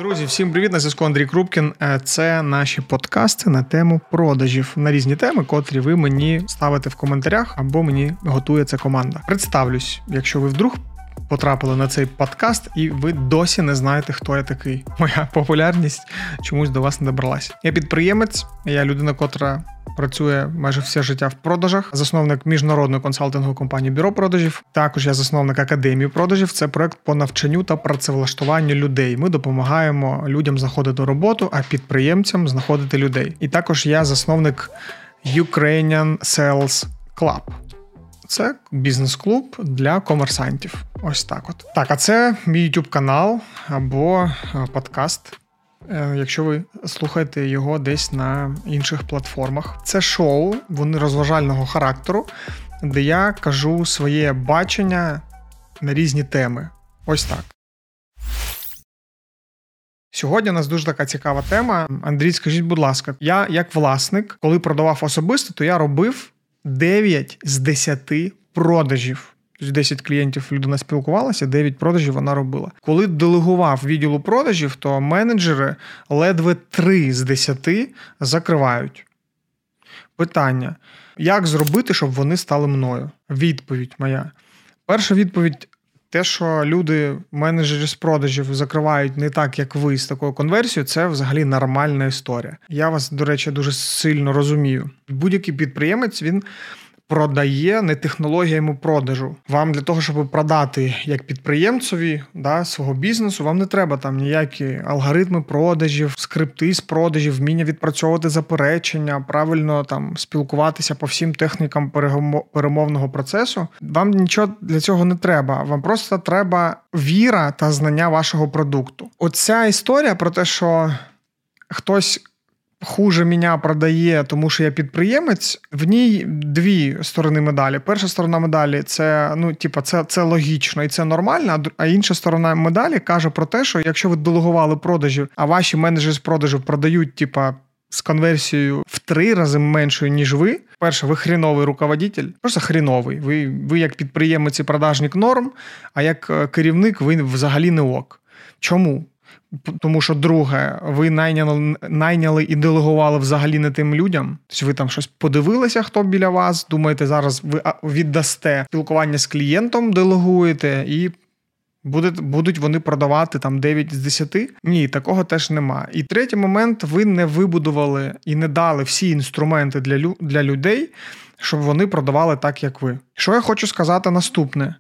Друзі, всім привіт, на зв'язку Андрій Крупкін. Це наші подкасти на тему продажів, на різні теми, котрі ви мені ставите в коментарях або мені готує ця команда. Представлюсь, якщо ви вдруг потрапили на цей подкаст і ви досі не знаєте, хто я такий. Моя популярність чомусь до вас не добралася. Я підприємець, я людина, котра працює майже все життя в продажах, засновник міжнародної консалтингової компанії «Бюро продажів». Також я засновник Академії продажів. Це проект по навчанню та працевлаштуванню людей. Ми допомагаємо людям знаходити роботу, а підприємцям знаходити людей. І також я засновник Ukrainian Sales Club. Це бізнес-клуб для комерсантів. Ось так от. Так, а це мій YouTube-канал або подкаст, якщо ви слухаєте його десь на інших платформах. Це шоу, вони розважального характеру, де я кажу своє бачення на різні теми. Ось так. Сьогодні у нас дуже така цікава тема. Андрій, скажіть, будь ласка, я як власник, коли продавав особисто, то я робив 9 з 10 продажів. Тобто 10 клієнтів людина спілкувалася, 9 продажів вона робила. Коли делегував відділу продажів, то менеджери ледве 3 з 10 закривають. Питання. Як зробити, щоб вони стали мною? Відповідь моя. Перша відповідь – те, що люди, менеджери з продажів, закривають не так, як ви, з такою конверсією, це взагалі нормальна історія. Я вас, до речі, дуже сильно розумію. Будь-який підприємець, він продає не технологіями продажу. Вам для того, щоб продати як підприємцеві свого бізнесу, вам не треба там ніякі алгоритми продажів, скрипти з продажів, вміння відпрацьовувати заперечення, правильно там спілкуватися по всім технікам перемовного процесу. Вам нічого для цього не треба. Вам просто треба віра та знання вашого продукту. Оця історія про те, що хтось хуже мене продає, тому що я підприємець, в ній дві сторони медалі. Перша сторона медалі – це логічно і це нормально, а інша сторона медалі каже про те, що якщо ви делегували продажі, а ваші менеджери з продажів продають з конверсією в 3 рази меншою, ніж ви, перше, ви хріновий руководитель, просто хріновий. Ви як підприємець і продажник норм, а як керівник ви взагалі не ок. Чому? Тому що, друге, ви найняли і делегували взагалі не тим людям. Тобто ви там щось подивилися, хто біля вас, думаєте, зараз ви віддасте спілкування з клієнтом, делегуєте, і будуть вони продавати там 9 з 10? Ні, такого теж нема. І третій момент, ви не вибудували і не дали всі інструменти для людей, щоб вони продавали так, як ви. Що я хочу сказати наступне?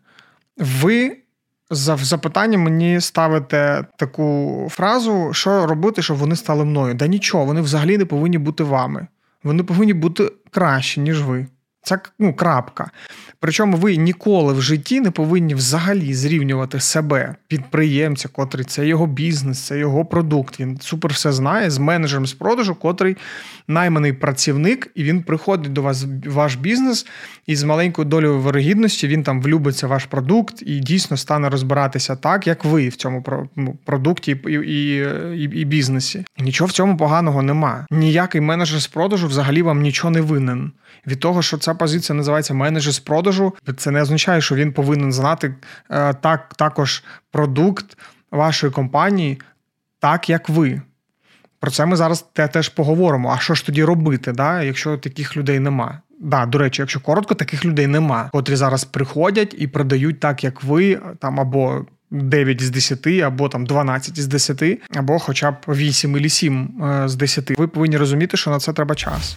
Ви за запитанням мені ставите таку фразу, що робити, щоб вони стали мною. Да нічого, вони взагалі не повинні бути вами. Вони повинні бути кращі, ніж ви. Це, крапка. Причому ви ніколи в житті не повинні взагалі зрівнювати себе, підприємця, котрий це його бізнес, це його продукт. Він супер все знає, з менеджером з продажу, котрий найманий працівник, і він приходить до вас в ваш бізнес, і з маленькою долею вирогідності він там влюбиться в ваш продукт і дійсно стане розбиратися так, як ви в цьому продукті і бізнесі. Нічого в цьому поганого нема. Ніякий менеджер з продажу взагалі вам нічого не винен. Від того, що ця позиція називається менеджер з продажу, це не означає, що він повинен знати також продукт вашої компанії так, як ви. Про це ми зараз теж поговоримо. А що ж тоді робити, якщо таких людей нема? До речі, якщо коротко, таких людей нема, котрі зараз приходять і продають так, як ви, там або 9 з 10, або там 12 з 10, або хоча б 8 або 7 з 10. Ви повинні розуміти, що на це треба час.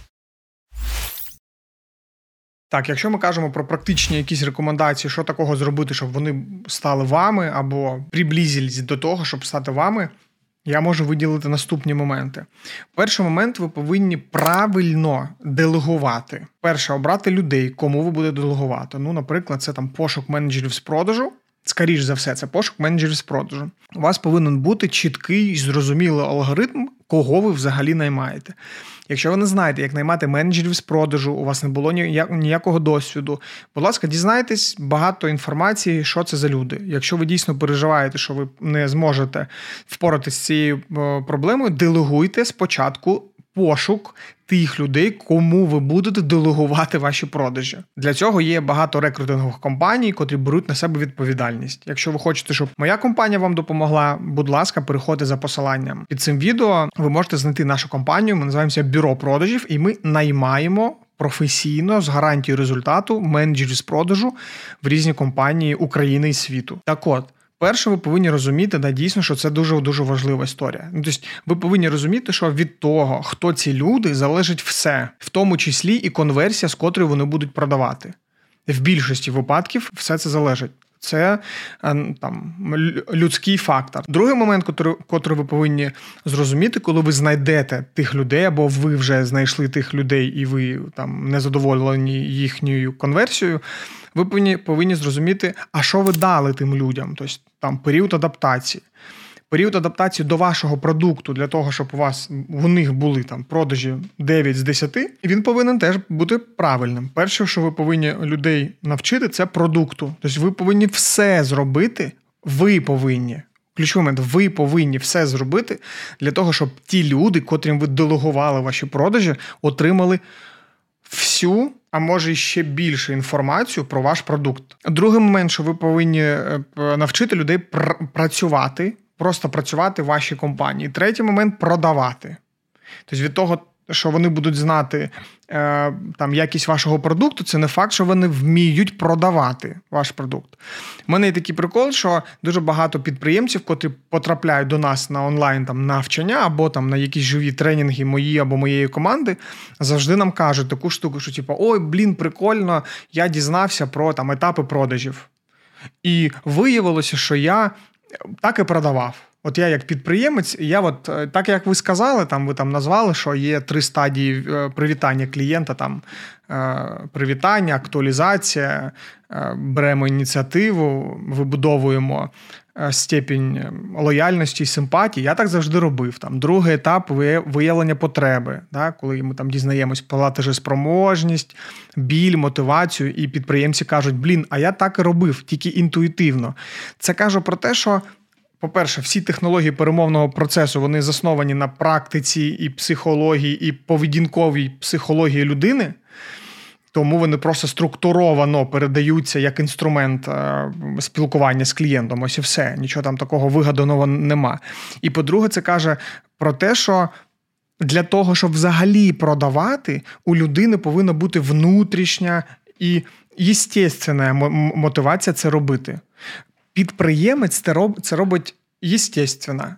Так, якщо ми кажемо про практичні якісь рекомендації, що такого зробити, щоб вони стали вами або приблизились до того, щоб стати вами, я можу виділити наступні моменти. Перший момент, ви повинні правильно делегувати. Перше, обрати людей, кому ви будете делегувати. Наприклад, це там пошук менеджерів з продажу. Скоріш за все, це пошук менеджерів з продажу. У вас повинен бути чіткий і зрозумілий алгоритм, кого ви взагалі наймаєте. Якщо ви не знаєте, як наймати менеджерів з продажу, у вас не було ніякого досвіду, будь ласка, дізнайтесь багато інформації, що це за люди. Якщо ви дійсно переживаєте, що ви не зможете впоратися з цією проблемою, делегуйте спочатку пошук тих людей, кому ви будете делегувати ваші продажі. Для цього є багато рекрутингових компаній, котрі беруть на себе відповідальність. Якщо ви хочете, щоб моя компанія вам допомогла, будь ласка, переходьте за посиланням. Під цим відео ви можете знайти нашу компанію, ми називаємося Бюро продажів, і ми наймаємо професійно, з гарантією результату, менеджерів з продажу в різні компанії України і світу. Так от, перше, ви повинні розуміти, дійсно, що це дуже-дуже важлива історія. Тобто, ви повинні розуміти, що від того, хто ці люди, залежить все, в тому числі і конверсія, з котрою вони будуть продавати. В більшості випадків все це залежить. Це людський фактор. Другий момент, котрий ви повинні зрозуміти, коли ви знайдете тих людей, або ви вже знайшли тих людей, і ви не задоволені їхньою конверсією, ви повинні зрозуміти, а що ви дали тим людям. Тобто, період адаптації. Період адаптації до вашого продукту, для того, щоб у них були продажі 9 з 10, він повинен теж бути правильним. Перше, що ви повинні людей навчити, це продукту. Тобто ви повинні все зробити, ключовий момент, ви повинні все зробити для того, щоб ті люди, котрим ви делегували ваші продажі, отримали всю, а може ще більше інформацію про ваш продукт. Другий момент, що ви повинні навчити людей працювати, просто працювати в вашій компанії. Третій момент – продавати. Тобто від того, що вони будуть знати якість вашого продукту, це не факт, що вони вміють продавати ваш продукт. У мене є такий прикол, що дуже багато підприємців, котрі потрапляють до нас на онлайн навчання або на якісь живі тренінги мої або моєї команди, завжди нам кажуть таку штуку, що ой, прикольно, я дізнався про етапи продажів. І виявилося, що я так і продавав. От я як підприємець, так як ви сказали, ви назвали, що є 3 стадії привітання клієнта, привітання, актуалізація, беремо ініціативу, вибудовуємо степінь лояльності і симпатії. Я так завжди робив. Другий етап – виявлення потреби, коли ми дізнаємось платежеспроможність, біль, мотивацію, і підприємці кажуть, а я так і робив, тільки інтуїтивно. Це кажу про те, що по-перше, всі технології перемовного процесу, вони засновані на практиці і психології, і поведінковій психології людини, тому вони просто структуровано передаються як інструмент спілкування з клієнтом. Ось і все, нічого такого вигаданого нема. І по-друге, це каже про те, що для того, щоб взагалі продавати, у людини повинна бути внутрішня і єстественна мотивація це робити. Підприємець це робить єстественно.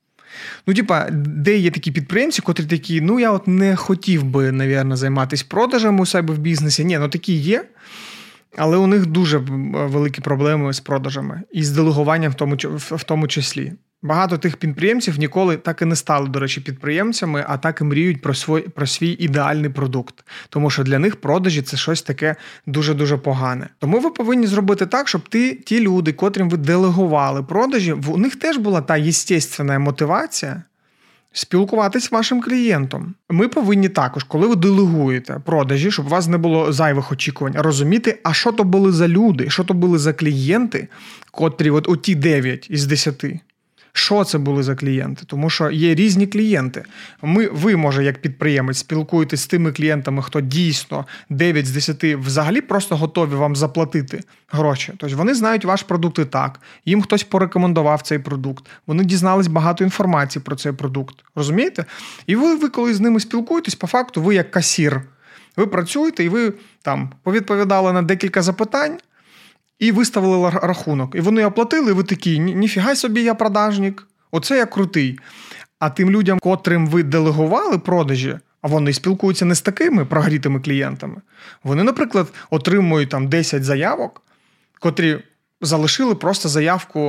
Де є такі підприємці, котрі такі, я не хотів би, навірно, займатися продажами у себе в бізнесі. Ні, такі є, але у них дуже великі проблеми з продажами і з делегуванням в тому числі. Багато тих підприємців ніколи так і не стали, до речі, підприємцями, а так і мріють про свій ідеальний продукт. Тому що для них продажі – це щось таке дуже-дуже погане. Тому ви повинні зробити так, щоб ті люди, котрим ви делегували продажі, у них теж була та єстественна мотивація спілкуватись з вашим клієнтом. Ми повинні також, коли ви делегуєте продажі, щоб у вас не було зайвих очікувань, розуміти, а що то були за люди, що то були за клієнти, котрі оті 9 із 10. Що це були за клієнти? Тому що є різні клієнти. Ви, може, як підприємець, спілкуєтесь з тими клієнтами, хто дійсно 9 з 10 взагалі просто готові вам заплатити гроші. Тобто вони знають ваш продукт і так. Їм хтось порекомендував цей продукт. Вони дізнались багато інформації про цей продукт. Розумієте? І ви коли з ними спілкуєтесь, по факту ви як касір. Ви працюєте і ви повідповідали на декілька запитань, і виставили рахунок. І вони оплатили, і ви такі, ніфіга собі я продажник, оце я крутий. А тим людям, котрим ви делегували продажі, а вони спілкуються не з такими прогрітими клієнтами, вони, наприклад, отримують 10 заявок, котрі залишили просто заявку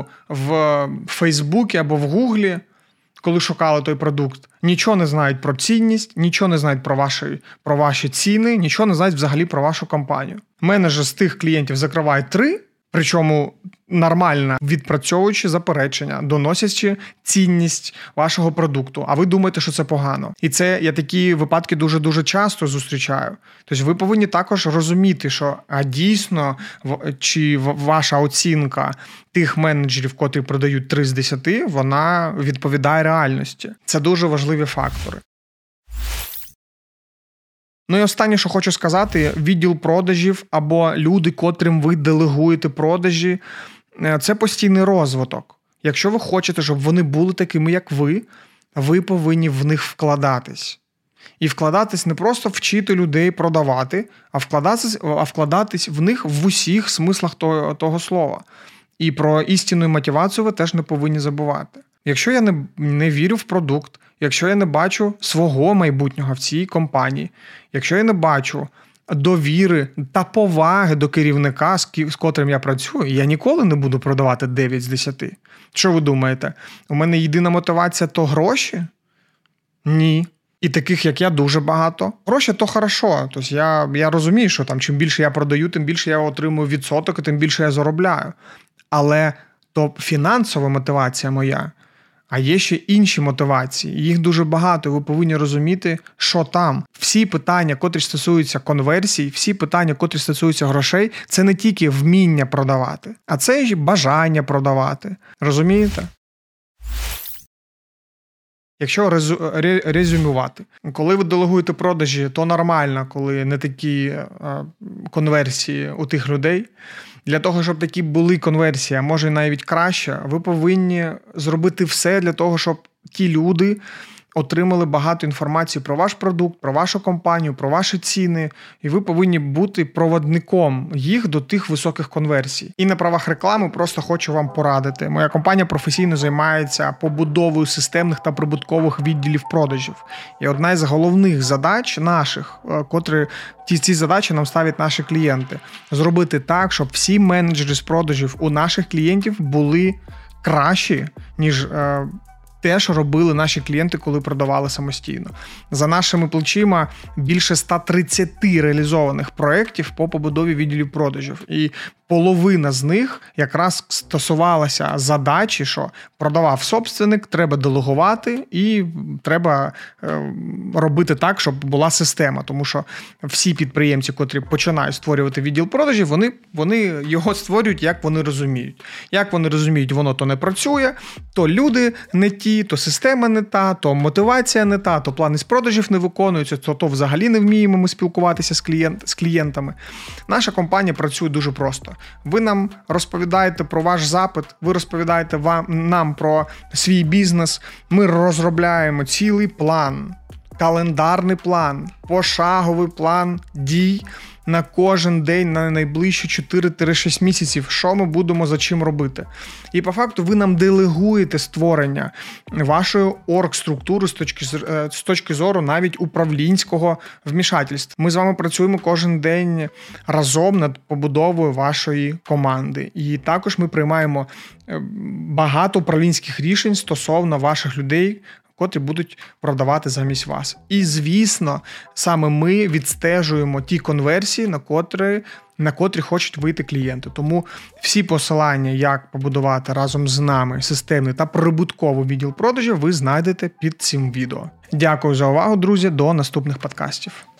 в Фейсбуці або в Гуглі, коли шукали той продукт. Нічого не знають про цінність, нічого не знають про ваші ціни, нічого не знають взагалі про вашу компанію. Менеджер з тих клієнтів закриває 3, причому нормально відпрацьовуючи заперечення, доносячи цінність вашого продукту, а ви думаєте, що це погано. І це я такі випадки дуже-дуже часто зустрічаю. Тобто ви повинні також розуміти, що дійсно чи ваша оцінка тих менеджерів, котрі продають 3 з 10, вона відповідає реальності. Це дуже важливі фактори. Ну і останнє, що хочу сказати, відділ продажів або люди, котрим ви делегуєте продажі, це постійний розвиток. Якщо ви хочете, щоб вони були такими, як ви повинні в них вкладатись. І вкладатись не просто вчити людей продавати, а вкладатись в них в усіх смислах того слова. І про істинну мотивацію ви теж не повинні забувати. Якщо я не вірю в продукт, якщо я не бачу свого майбутнього в цій компанії, якщо я не бачу довіри та поваги до керівника, з котрим я працюю, я ніколи не буду продавати 9 з 10. Що ви думаєте? У мене єдина мотивація – то гроші? Ні. І таких, як я, дуже багато. Гроші – то хорошо. Тобто я розумію, що там, чим більше я продаю, тим більше я отримую відсоток, і тим більше я заробляю. Але то фінансова мотивація моя. А є ще інші мотивації. Їх дуже багато. Ви повинні розуміти, що там. Всі питання, котрі стосуються конверсій, всі питання, котрі стосуються грошей, це не тільки вміння продавати, а це й бажання продавати. Розумієте? Якщо резюмувати, коли ви делегуєте продажі, то нормально, коли не такі конверсії у тих людей. Для того, щоб такі були конверсії, а може навіть краще, ви повинні зробити все для того, щоб ті люди отримали багато інформації про ваш продукт, про вашу компанію, про ваші ціни, і ви повинні бути проводником їх до тих високих конверсій. І на правах реклами просто хочу вам порадити. Моя компанія професійно займається побудовою системних та прибуткових відділів продажів. І одна із головних задач наших, котрі ці задачі нам ставлять наші клієнти, зробити так, щоб всі менеджери з продажів у наших клієнтів були кращі, ніж те, що робили наші клієнти, коли продавали самостійно. За нашими плечима більше 130 реалізованих проєктів по побудові відділів продажів. І половина з них якраз стосувалася задачі, що продавав собственник, треба делегувати і треба робити так, щоб була система. Тому що всі підприємці, котрі починають створювати відділ продажів, вони його створюють, як вони розуміють. Як вони розуміють, воно то не працює, то люди не ті, то система не та, то мотивація не та, то плани з продажів не виконуються, то взагалі не вміємо ми спілкуватися з клієнтами. Наша компанія працює дуже просто. Ви нам розповідаєте про ваш запит, ви розповідаєте нам про свій бізнес, ми розробляємо цілий план, календарний план, пошаговий план дій на кожен день, на найближчі 4-6 місяців, що ми будемо за чим робити. І по факту ви нам делегуєте створення вашої оргструктури з точки зору навіть управлінського вмішательства. Ми з вами працюємо кожен день разом над побудовою вашої команди. І також ми приймаємо багато управлінських рішень стосовно ваших людей, котрі будуть продавати замість вас. І, звісно, саме ми відстежуємо ті конверсії, на котрі хочуть вийти клієнти. Тому всі посилання, як побудувати разом з нами системний та прибутковий відділ продажів, ви знайдете під цим відео. Дякую за увагу, друзі, до наступних подкастів.